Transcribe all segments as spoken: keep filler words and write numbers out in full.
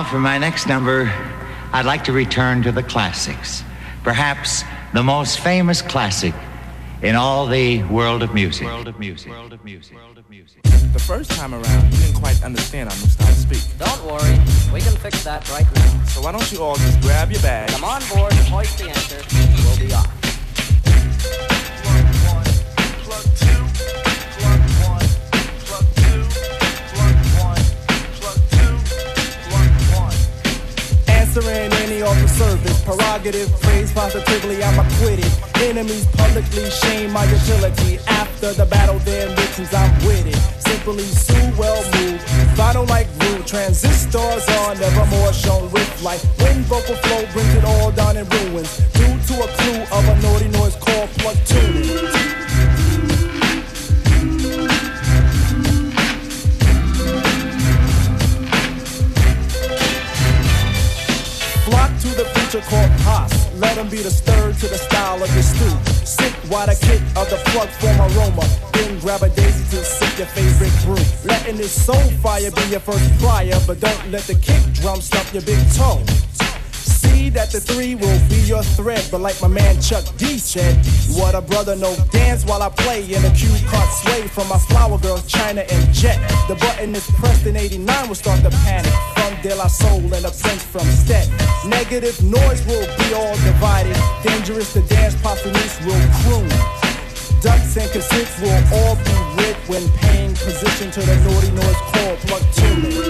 Now, for my next number, I'd like to return to the classics. Perhaps the most famous classic in all the world of music. World of music. World of music. World of music. The first time around, you didn't quite understand our new style to speak. Don't worry, we can fix that right now. So why don't you all just grab your bags? Come on board, hoist the anchor, we'll be off. Answering any offer service, prerogative, praise positively, I'm acquitted. Enemies publicly shame my utility. After the battle, their ambitions, I'm with it. Simply sue, well moved. Vinyl like glue, transistors on, never more shown with light. When vocal flow brings it all down in ruins, due to a clue of a naughty noise called plug tuning. To the future called Haas. Let them be the stir to the style of your stew. Sit while the kick of the plug form aroma. Then grab a daisy to sip your favorite brew. Letting this soul fire be your first flyer, but don't let the kick drum stump your big toe. See that the three will be your thread, but like my man Chuck D said, what a brother, no dance while I play. In a cue card sway from my flower girls, China and Jet. The button is pressed in eighty-nine will start the panic. From De La Soul and a prince from Stet. Negative noise will be all divided. Dangerous to dance, Papanis will croon. Ducks and cassettes will all be rid when paying position to the naughty noise called plug tuning.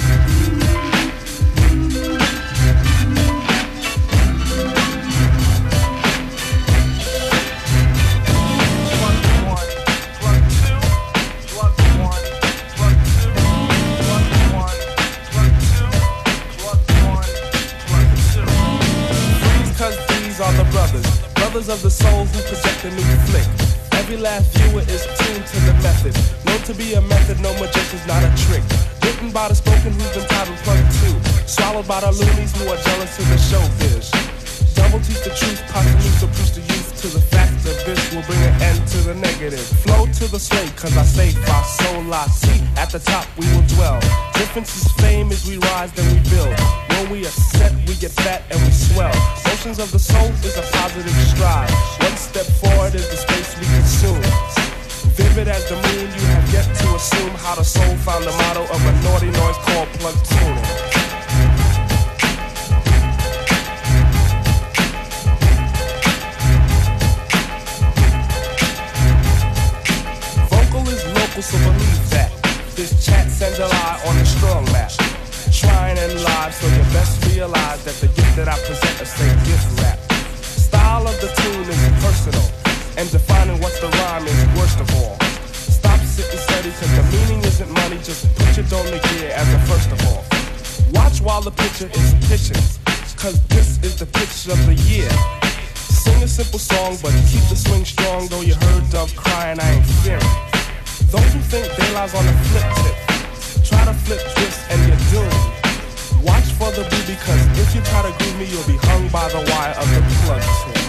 Are the brothers, brothers of the soul who project a new flick. Every last viewer is tuned to the method. Known to be a method, no magician's not a trick. Written by the spoken who's been tied and plugged too. Swallowed by the loonies who are jealous of the showbiz. Double teach the truth, posthumous to preach the youth to the fact that this will bring an end to the negative. Flow to the slate, cause I say fa sol la si. At the top we will dwell. Difference is fame as we rise, then we build. When we are set, we get fat and we swell. Motions of the soul is a positive stride. One step forward is the space we consume. Vivid as the moon, you have yet to assume how the soul found the motto of a naughty noise called plug tuning. So believe that this chat sends a lie on a strong map. Trying and live, so you best realize that the gift that I present is say gift rap. Style of the tune is personal, and defining what's the rhyme is worst of all. Stop sitting steady, cause the meaning isn't money. Just put your dome to gear as the first of all. Watch while the picture is pitching, cause this is the pitch of the year. Sing a simple song, but keep the swing strong. Though you heard Dove crying, I ain't fearing. Those who think they lies on the flip tip, try to flip twist and you're doomed. Watch for the boo, because if you try to groove me, you'll be hung by the wire of the plug tip.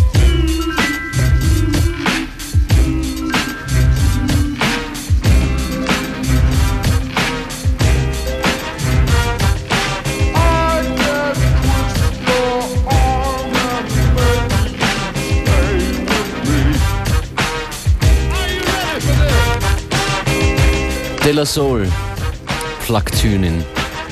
De La Soul, plug tuning.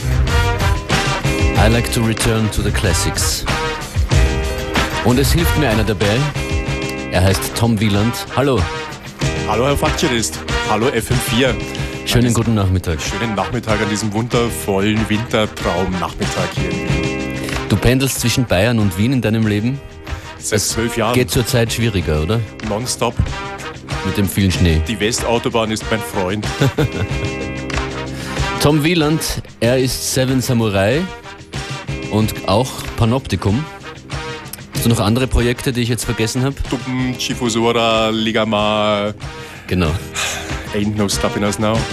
I like to return to the classics. Und es hilft mir einer dabei. Er heißt Tom Wieland. Hallo. Hallo Herr Functionist. Hallo F M vier. Schönen guten Nachmittag. Schönen Nachmittag an diesem wundervollen Wintertraum-Nachmittag hier in Wien. Du pendelst zwischen Bayern und Wien in deinem Leben? Seit zwölf Jahren. Geht zurzeit schwieriger, oder? Nonstop. Mit dem vielen Schnee. Die Westautobahn ist mein Freund. Tom Wieland, er ist Seven Samurai und auch Panoptikum. Hast du noch andere Projekte, die ich jetzt vergessen habe? Tuppen, Chifusora, Ligama. Genau. Ain't no stopping us now.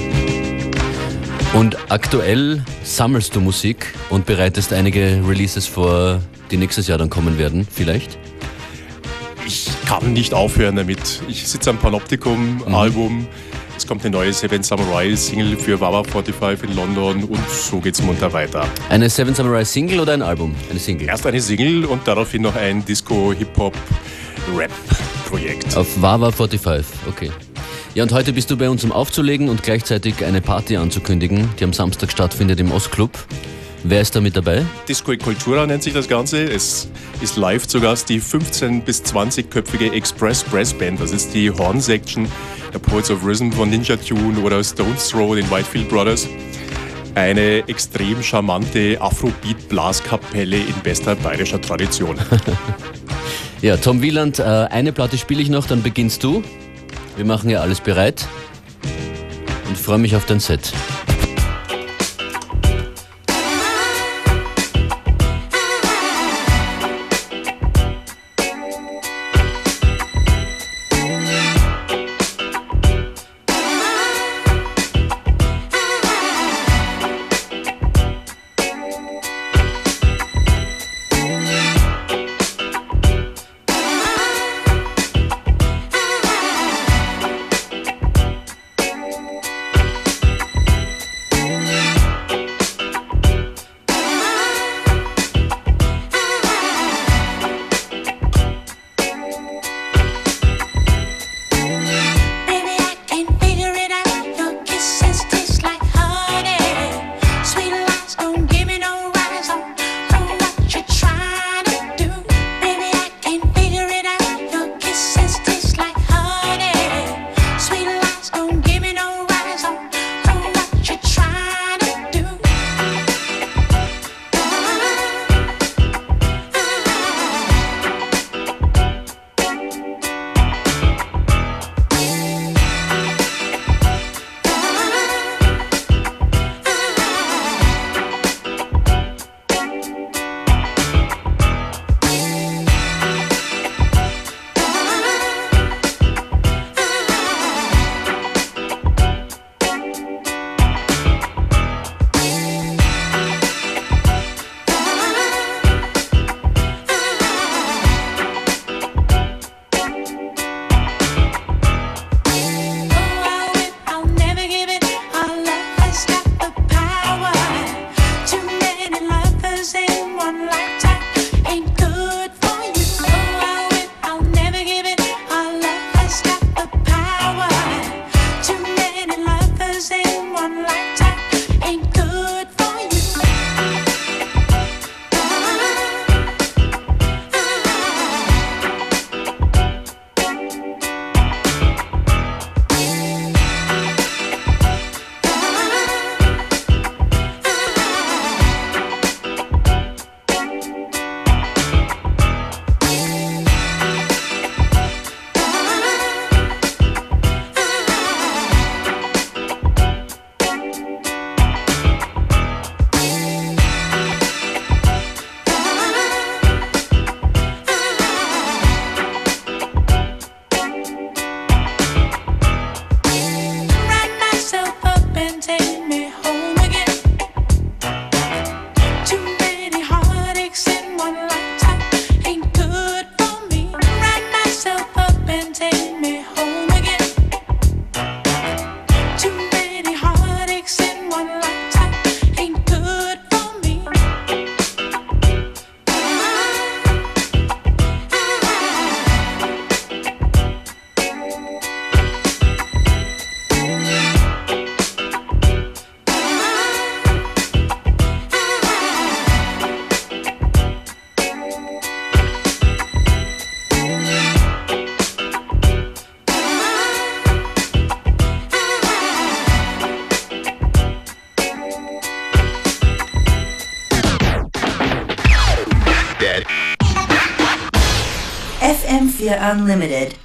Und aktuell sammelst du Musik und bereitest einige Releases vor, die nächstes Jahr dann kommen werden, vielleicht? Ich kann nicht aufhören damit. Ich sitze am Panoptikum-Album. Mhm. Es kommt eine neue Seven Samurai Single für Wawa forty-five in London und so geht's munter weiter. Eine Seven Samurai Single oder ein Album? Eine Single? Erst eine Single und daraufhin noch ein Disco-Hip-Hop-Rap-Projekt. Auf Wawa forty-five, okay. Ja, und heute bist du bei uns, um aufzulegen und gleichzeitig eine Party anzukündigen, die am Samstag stattfindet im Ostclub. Wer ist da mit dabei? Disco e Cultura nennt sich das Ganze. Es ist live zu Gast die fünfzehn- bis zwanzig-köpfige Express Brass Band. Das ist die Horn Section der Poets of Rhythm von Ninja Tune oder Stones Throw, den Whitefield Brothers. Eine extrem charmante Afrobeat-Blaskapelle in bester bayerischer Tradition. Ja, Tom Wieland, äh, eine Platte spiele ich noch, dann beginnst du. Wir machen ja alles bereit und freue mich auf dein Set. F M four Unlimited.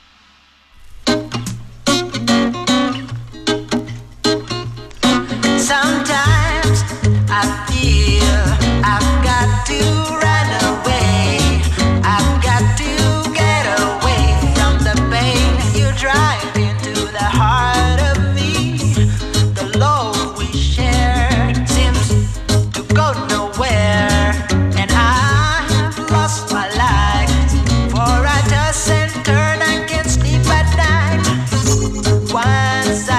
Sometimes I feel I've got to run away. I've got to get away from the pain you drive into the heart of me. The love we share seems to go nowhere, and I've lost my life. For I toss and turn, I can't sleep at night. Once I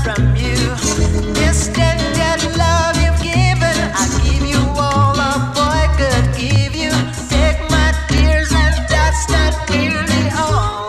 from you. This tender love you've given, I give you all a boy could give you. Take my tears and that's not nearly all.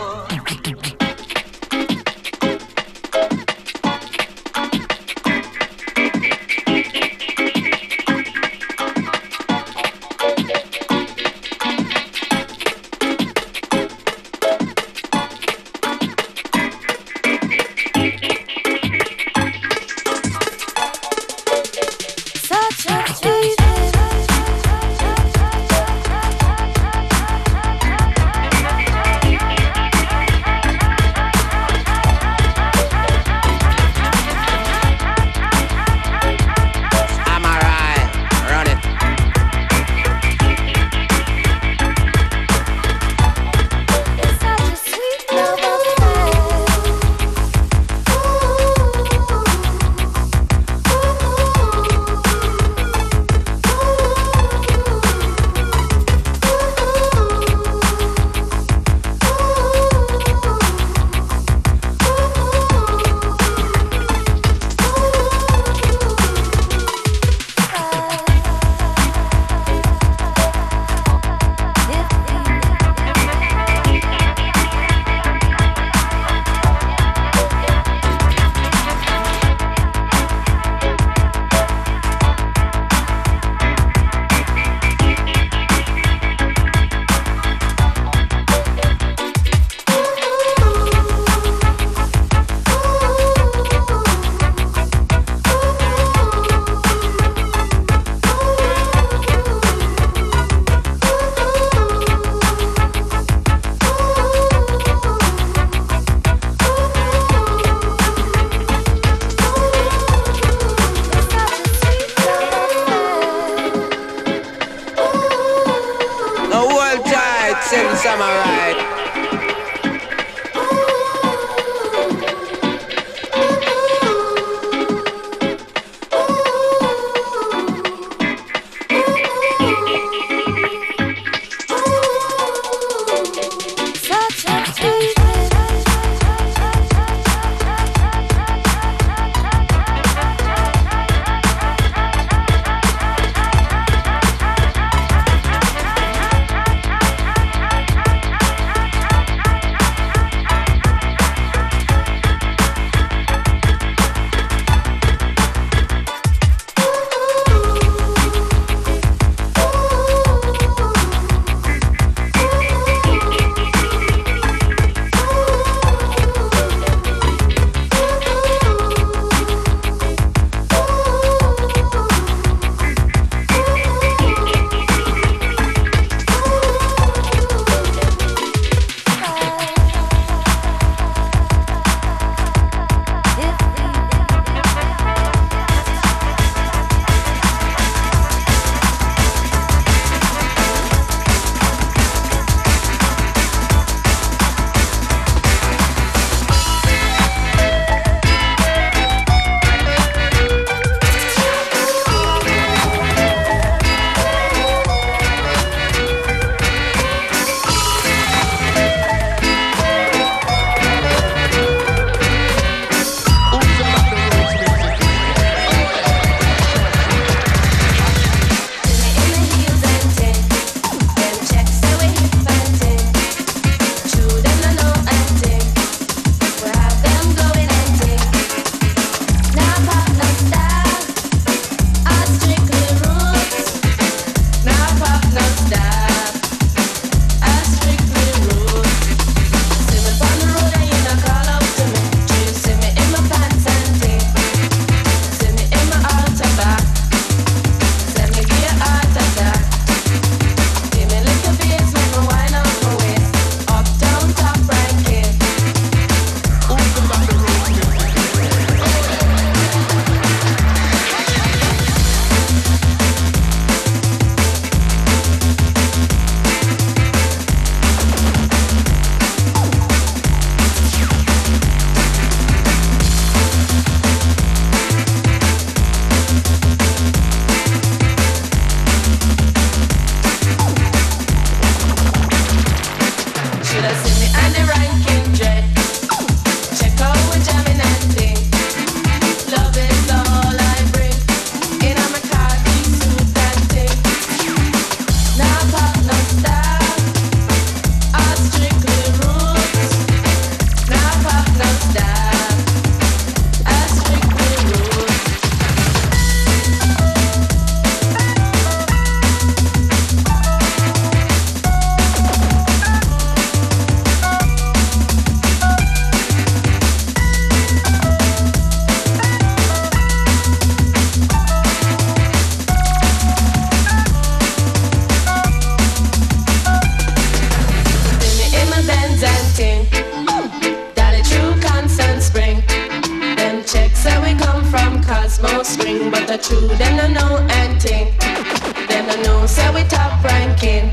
cosmos string, but the true them no know anything. Them no know say we top ranking,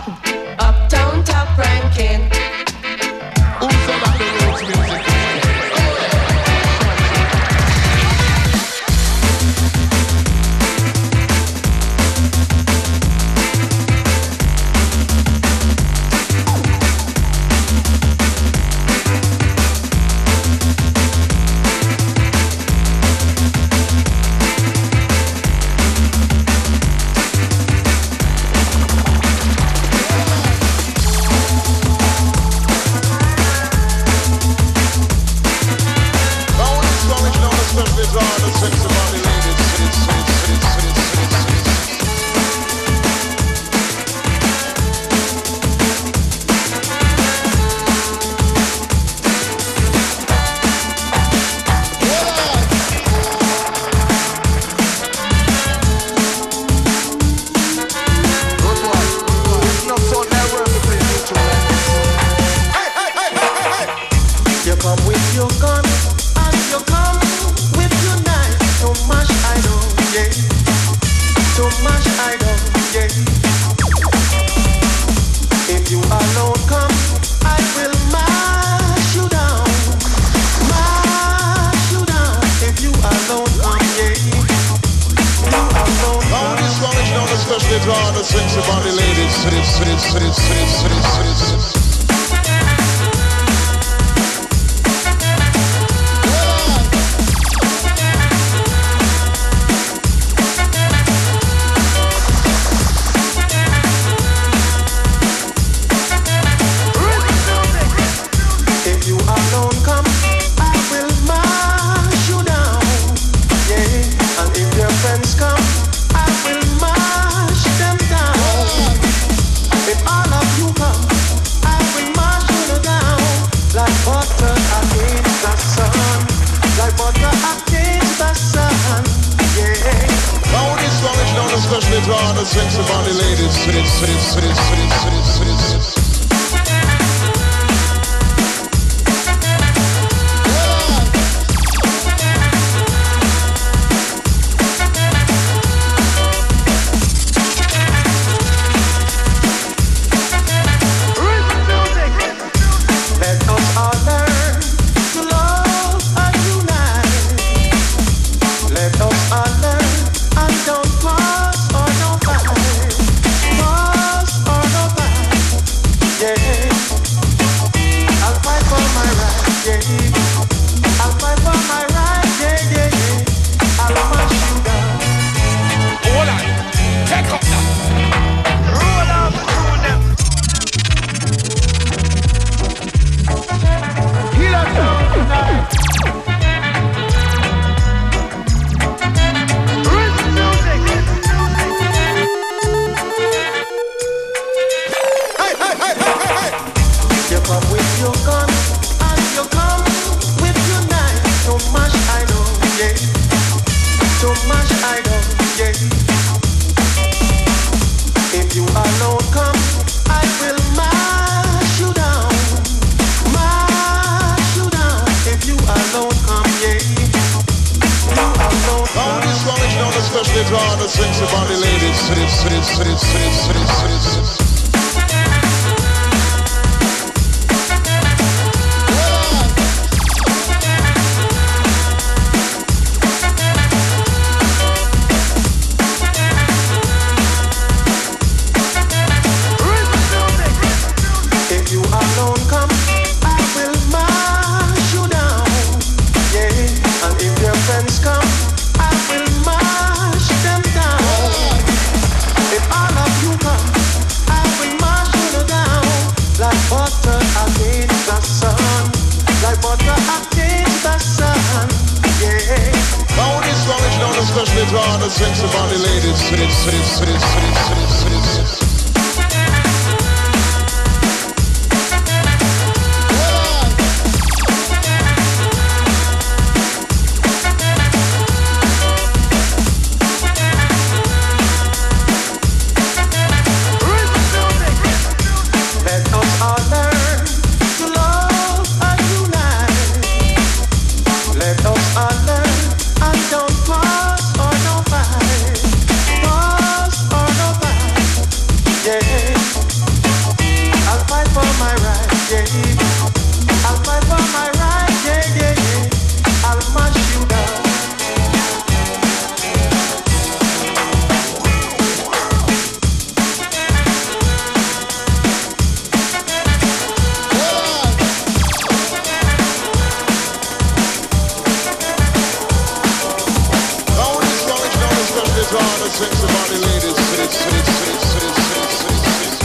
uptown top ranking. Who's about the roots music? Let us all learn and don't Sexy body ladies, sit, sit, sit, sit, sit, sit, sit.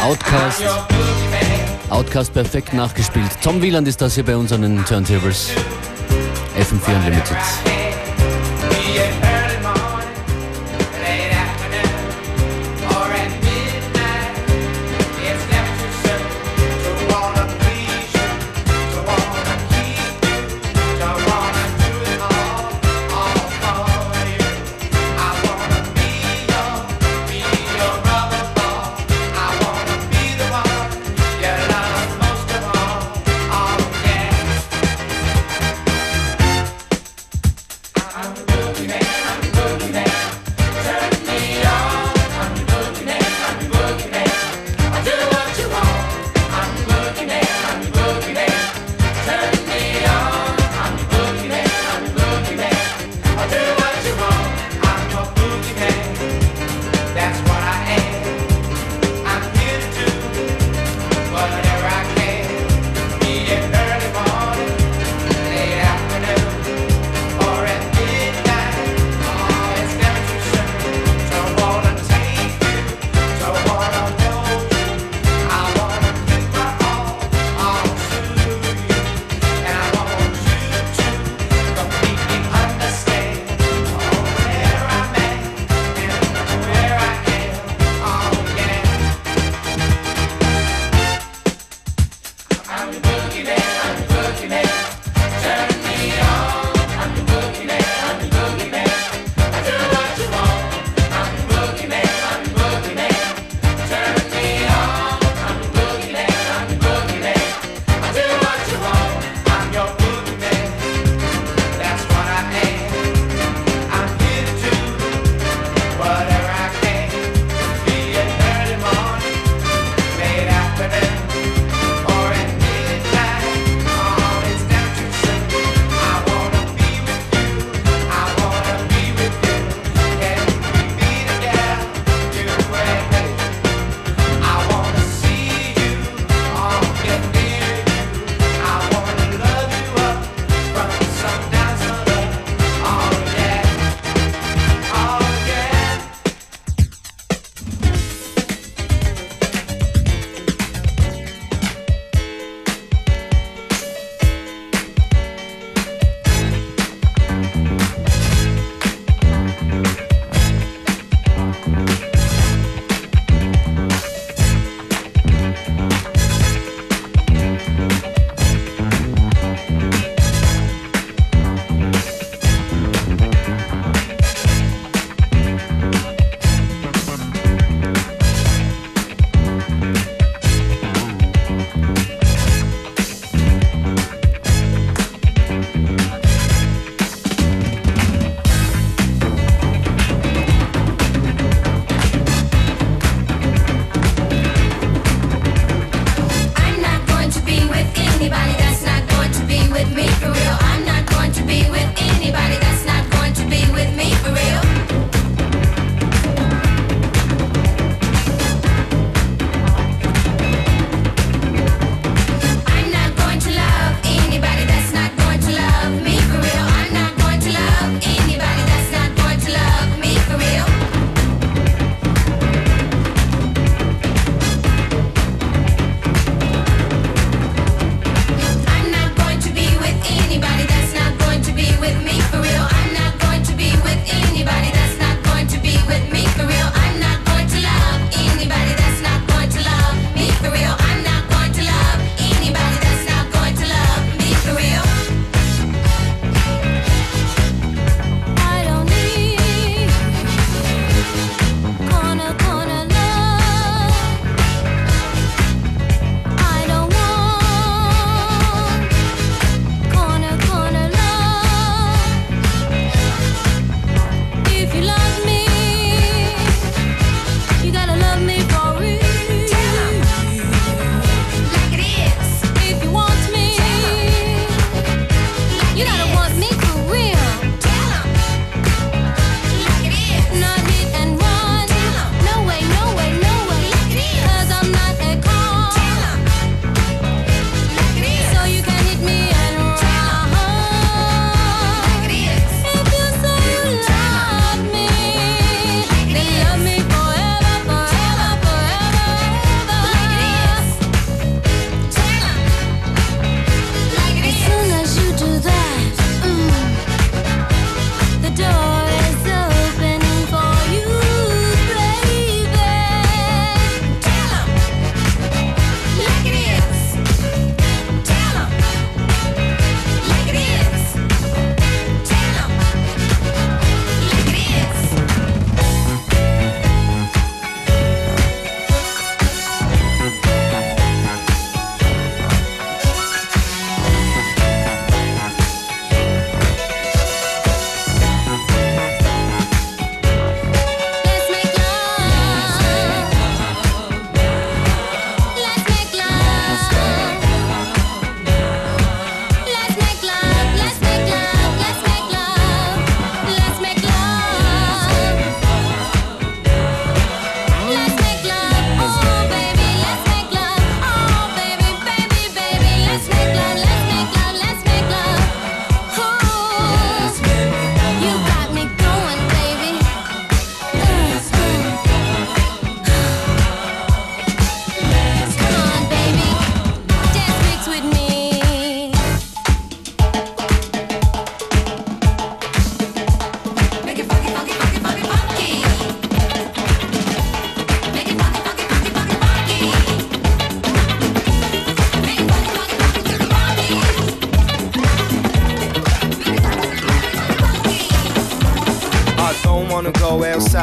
Outcast. Outcast perfekt nachgespielt. Tom Wieland ist das hier bei uns an den Turntables. F M vier Unlimited.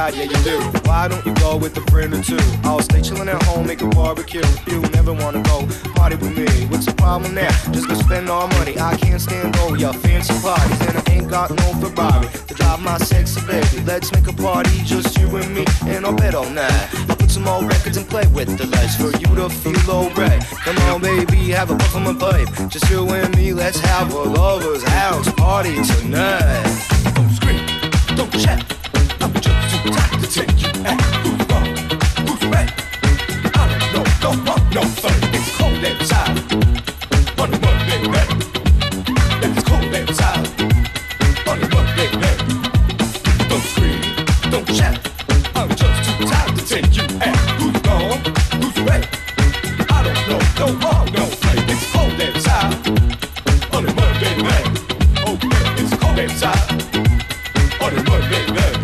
ride, yeah you do. Why don't you go with a friend or two? I'll stay chillin' at home, make a barbecue. You never wanna go party with me. What's the problem now? Just go spend all money. I can't stand all your fancy parties, and I ain't got no Ferrari to drive my sexy baby. Let's make a party, just you and me, and I'll bet all night. I'll put some more records and play with the lights for you to feel alright. Come on, baby, have a puff on my pipe. Just you and me, let's have a lover's house party tonight. Don't scream, don't shout. I'm just too tired to take you out. Who's wrong? Who's right? I don't know, don't want no fun. It's cold outside. On a Monday night. It's cold outside. On a Monday night. Don't scream, don't shout. I'm just too tired to take you out. Who's wrong? Who's right? I don't know, don't want no fun. It's cold outside. On a Monday night. Oh yeah, it's cold outside. On a Monday night.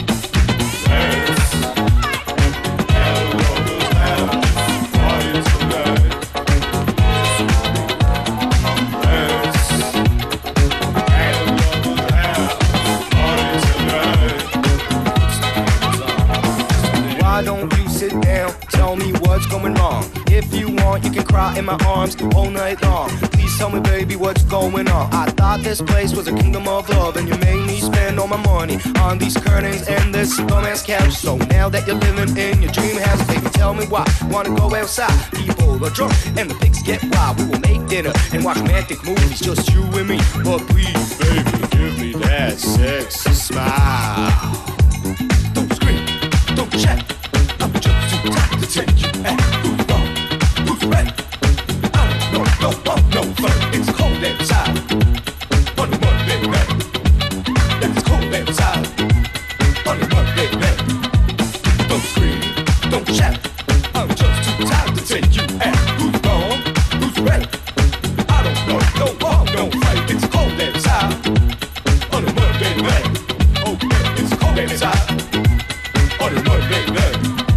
Why don't you sit down, tell me what's going wrong? If you want, you can cry in my arms all night long. Please tell me, baby, what's going on? I thought this place was a kingdom of love, and you made me spend all my money on these curtains and this romance couch. So now that you're living in your dream house, baby, tell me why. Wanna go outside? People are drunk and the pigs get wild. We will make dinner and watch romantic movies, just you and me. But please, baby, give me that sexy smile. Don't scream, don't shout. I'm just too tired to take you out. Who's wrong? Who's right? I don't know, don't want no fun. It's cold outside. On a Monday night. It's cold outside. On a Monday night. Don't scream, don't shout. I'm just too tired to take you out. Who's wrong? Who's right? I don't know, don't want no fight. It's cold outside. On a Monday night. Oh yeah, it's cold outside. On a Monday night.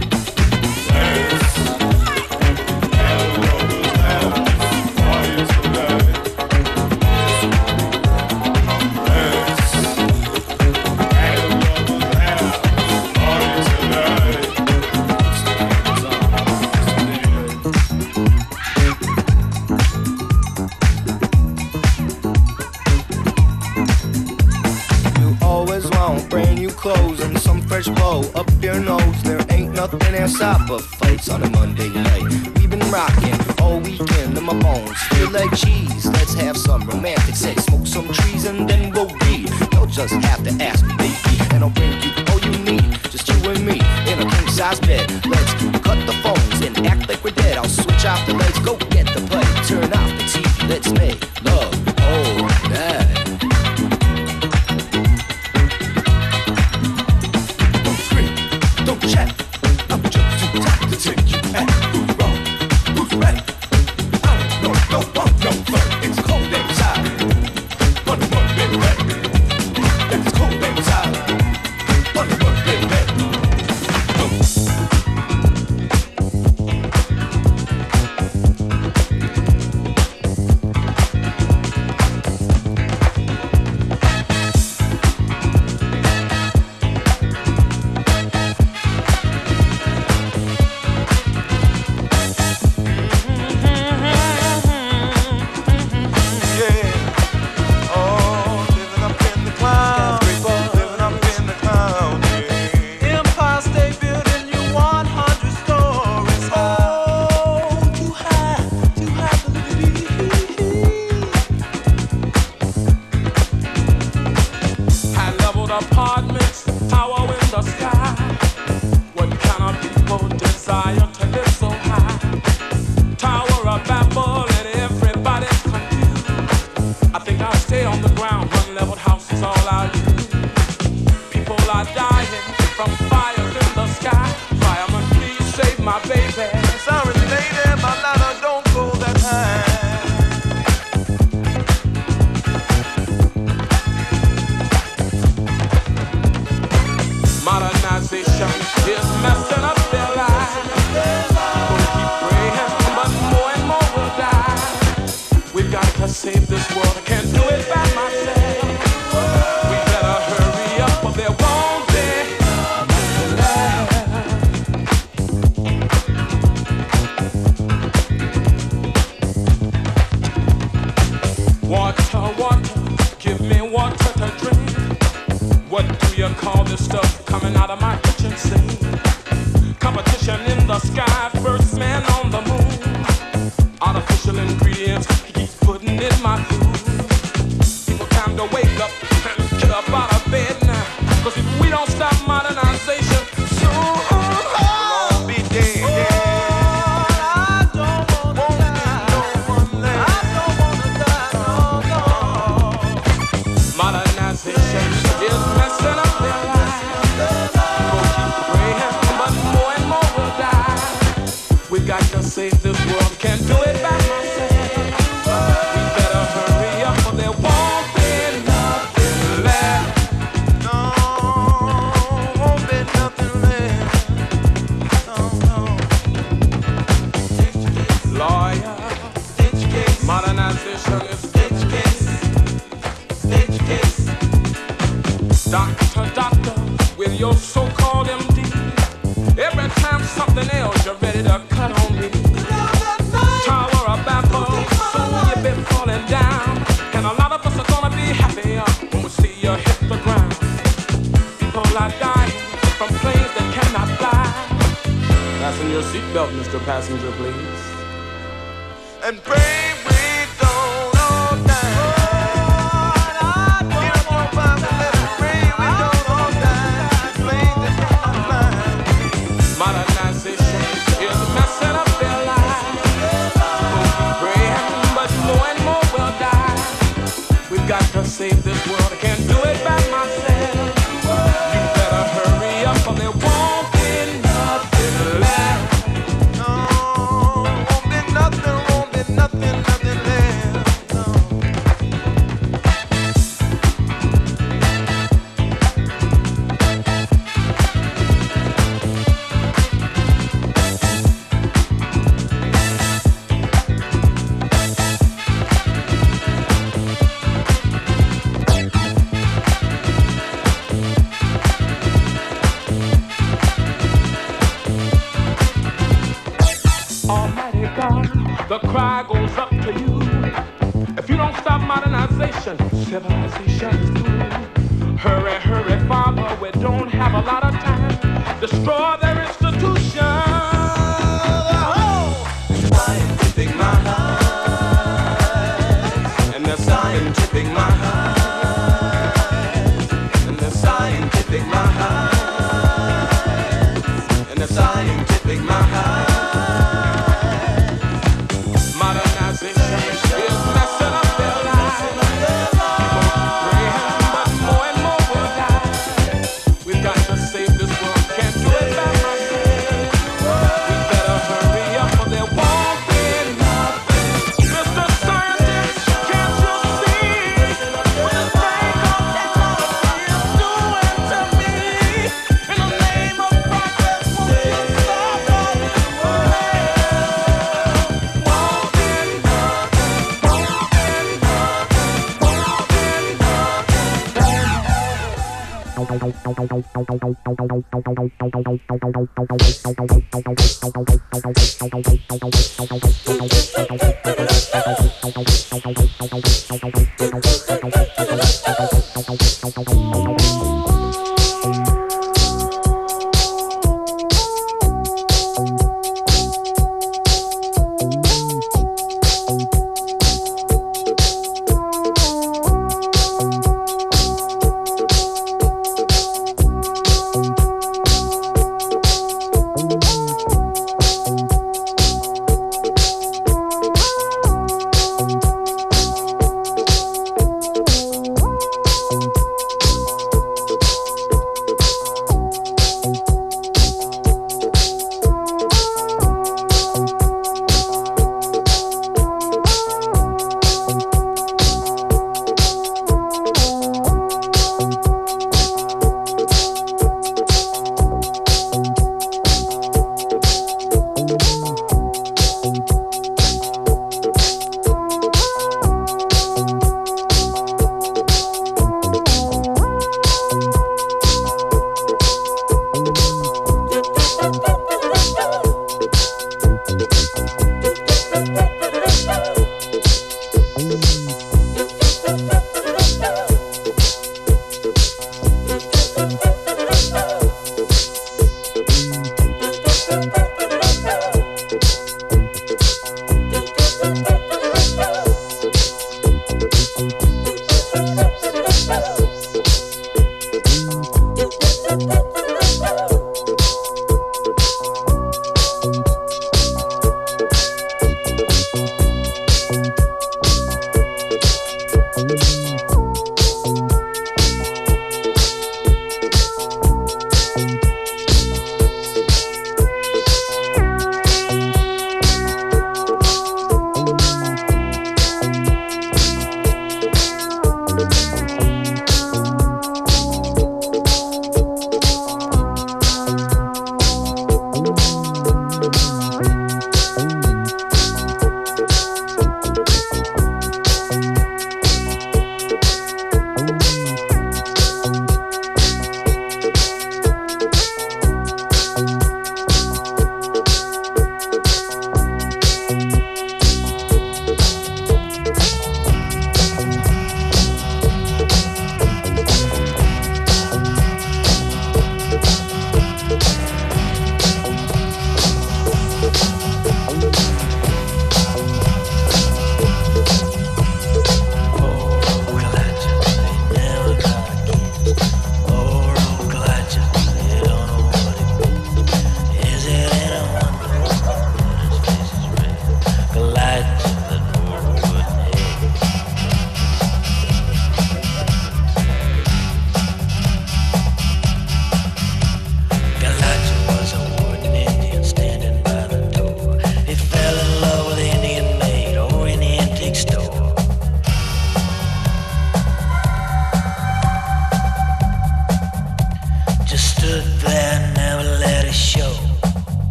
Clothes and some fresh blow up your nose. There ain't nothing outside but fights on a Monday night. We've been rocking all weekend and my bones feel like cheese. Let's have some romantic sex, smoke some trees and then we'll read. You'll just have to ask me, baby, and I'll bring you all you need. Just you and me in a king size bed. Let's cut the phones and act like we're dead. I'll switch off the lights, go get the play, turn off the T V. Let's make love all night. Don't chat, I'm just too tired to take you out. Who's wrong? Who's right? I don't know, don't want no fun. It's cold outside. On a Monday night. It's cold outside. On a Monday night. Save this world, I can't do it by myself. We better hurry up, or there won't be call this stuff coming out of my kitchen sink. Competition in the sky, first man on the moon. Artificial ingredients, he keeps putting in my food. People time to wake up and get up out of bed now. Cause if we don't stop modernization, soon we'll be dead. Modernization is messing up their lives. People keep praying, but more and more will die. We got to save this world, can't do it by ourselves. We better hurry up, or there won't be nothing left. No, won't be nothing left. No, no. Lawyer, modernization is doctor, doctor, with your so-called M D. Every time something else, you're ready to cut on me. Tower of Babel, soon you've been falling down. And a lot of us are gonna be happier when we see you hit the ground. People are dying from planes that cannot fly. Fasten your seatbelt, Mister Passenger, please. And pray we don't all die. Modernization is messing up their lives. People keep praying, but more and more will die. We've got to save this world, I can't do it by myself. You better hurry up, or there won't be nothing left. No, won't be nothing, won't be nothing, nothing left. No. Almighty God, the cry goes up to you. If you don't stop modernization, civilization is through. Hurry, hurry, Father, we don't have a lot of time. Destroy their institutions. Oh! Scientific mind, and the scientific mind, and the scientific mind, and the scientific mind.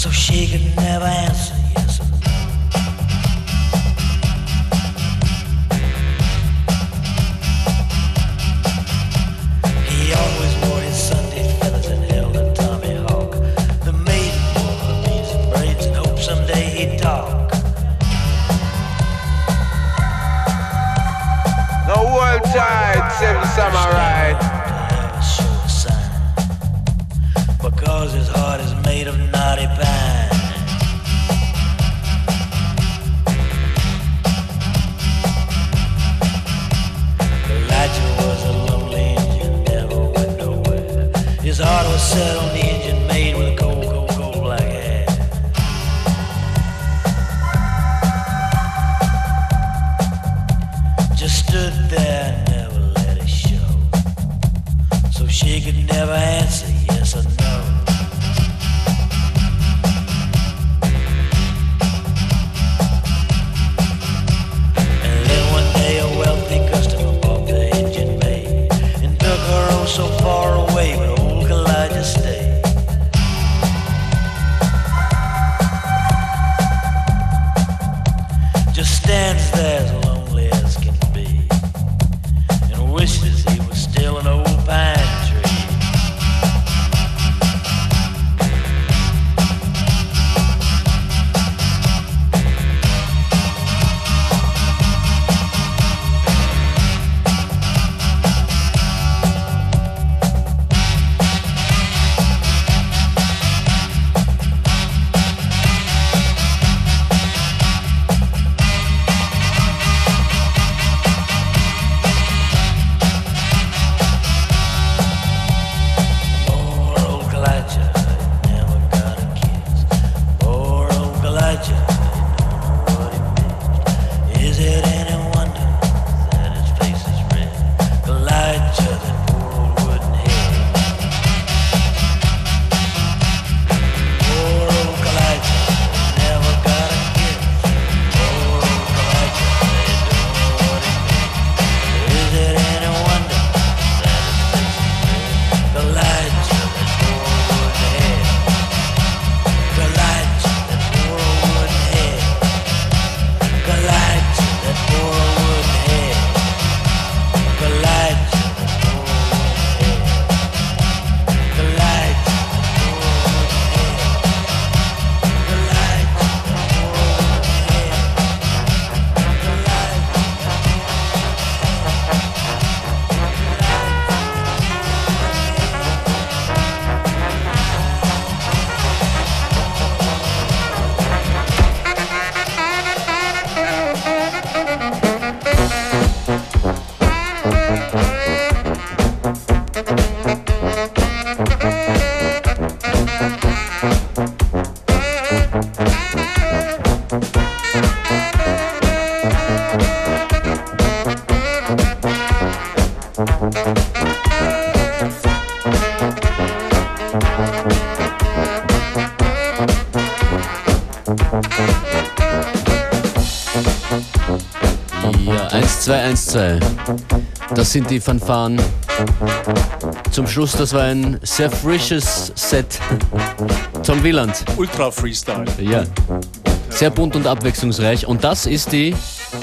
so she could never answer yes or no. He always wore his Sunday feathers and held a Tommy Hawk. The maiden wore her beads and braids and hoped someday he'd talk. The whole time, Seven Samurai. Because his heart is made of knotty pine. Elijah was a lonely Indian, never went nowhere. His heart was set on the engine made with a cold, cold, cold black hair. Just stood there and never let it show, so she could never answer yes or no. And then one day a wealthy customer bought the engine made and took her oh so far away, but old Elijah stayed. Just stands there as lonely as can be and wishes he was still an old pine tree. Ja, eins zwei eins zwei. Das sind die Fanfaren. Zum Schluss, das war ein sehr frisches Set. Tom Wieland. Ultra Freestyle. Ja. Sehr bunt und abwechslungsreich. Und das ist die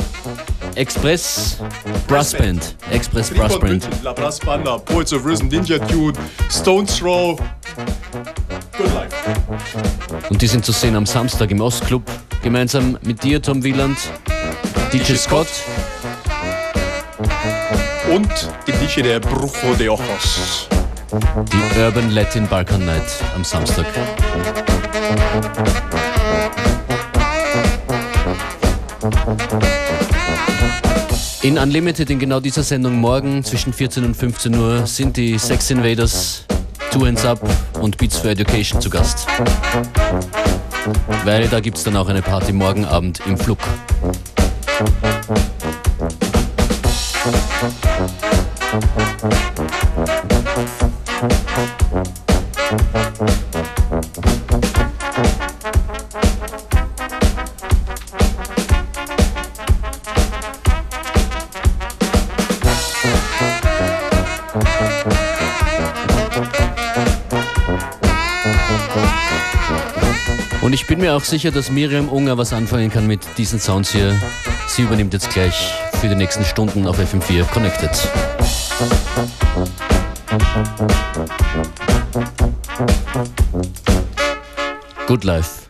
Express Brass Band. Express Brass Band. La Brass Banda, Poets of Rhythm, Ninja Tune, Stones Throw. Good life. Und die sind zu sehen am Samstag im Ostclub. Gemeinsam mit dir, Tom Wieland, D J Scott. Und die D J der Brujo de Ojos. Die Urban Latin Balkan Night am Samstag. In Unlimited, in genau dieser Sendung morgen zwischen vierzehn und fünfzehn Uhr sind die Sex Invaders, Two Hands Up und Beats for Education zu Gast. Weil da gibt es dann auch eine Party morgen Abend im Flug. Und ich bin mir auch sicher, dass Miriam Unger was anfangen kann mit diesen Sounds hier. Sie übernimmt jetzt gleich für die nächsten Stunden auf F M vier Connected. Good Life.